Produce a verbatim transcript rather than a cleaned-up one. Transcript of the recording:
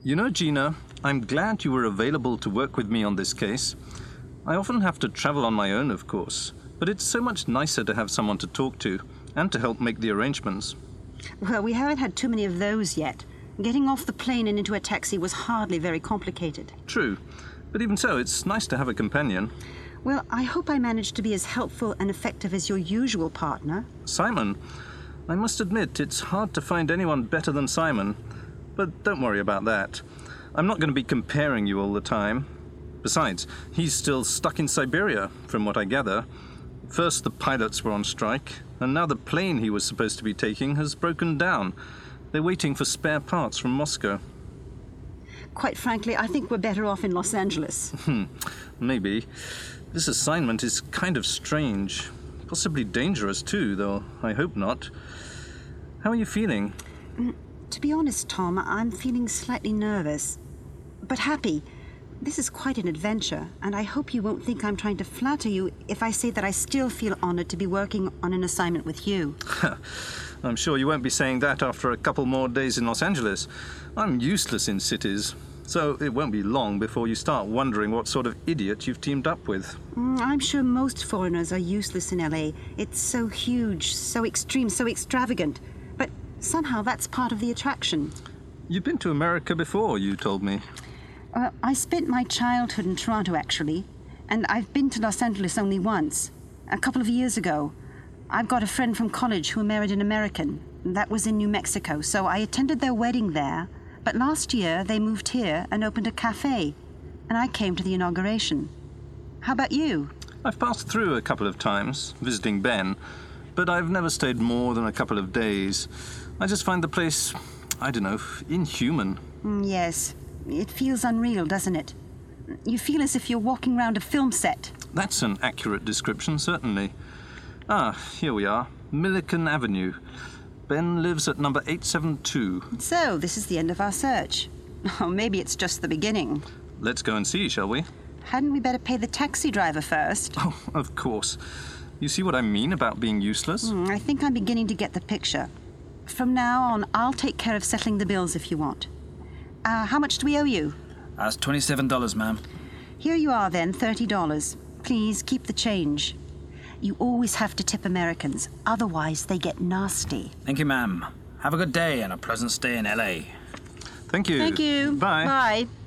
You know, Gina, I'm glad you were available to work with me on this case. I often have to travel on my own, of course, but it's so much nicer to have someone to talk to and to help make the arrangements. Well, we haven't had too many of those yet. Getting off the plane and into a taxi was hardly very complicated. True, but even so, it's nice to have a companion. Well, I hope I managed to be as helpful and effective as your usual partner. Simon, I must admit, it's hard to find anyone better than Simon. But don't worry about that. I'm not going to be comparing you all the time. Besides, he's still stuck in Siberia, from what I gather. First the pilots were on strike, and now the plane he was supposed to be taking has broken down. They're waiting for spare parts from Moscow. Quite frankly, I think we're better off in Los Angeles. Hmm, maybe. This assignment is kind of strange. Possibly dangerous too, though I hope not. How are you feeling? Mm, to be honest, Tom, I'm feeling slightly nervous. But happy. This is quite an adventure, and I hope you won't think I'm trying to flatter you if I say that I still feel honored to be working on an assignment with you. I'm sure you won't be saying that after a couple more days in Los Angeles. I'm useless in cities, so it won't be long before you start wondering what sort of idiot you've teamed up with. Mm, I'm sure most foreigners are useless in L A. It's so huge, so extreme, so extravagant. But somehow that's part of the attraction. You've been to America before, you told me. Uh, I spent my childhood in Toronto, actually, and I've been to Los Angeles only once, a couple of years ago. I've got a friend from college who married an American. That was in New Mexico, so I attended their wedding there. But last year, they moved here and opened a cafe, and I came to the inauguration. How about you? I've passed through a couple of times, visiting Ben, but I've never stayed more than a couple of days. I just find the place, I don't know, inhuman. Mm, yes. It feels unreal, doesn't it? You feel as if you're walking around a film set. That's an accurate description, certainly. Ah, here we are. Milliken Avenue. Ben lives at number eight seven two. So, this is the end of our search. Or maybe it's just the beginning. Let's go and see, shall we? Hadn't we better pay the taxi driver first? Oh, of course. You see what I mean about being useless? Mm, I think I'm beginning to get the picture. From now on, I'll take care of settling the bills if you want. Uh, how much do we owe you? That's twenty-seven dollars, ma'am. Here you are, then, thirty dollars. Please, keep the change. You always have to tip Americans, otherwise they get nasty. Thank you, ma'am. Have a good day and a pleasant stay in L A. Thank you. Thank you. Bye. Bye.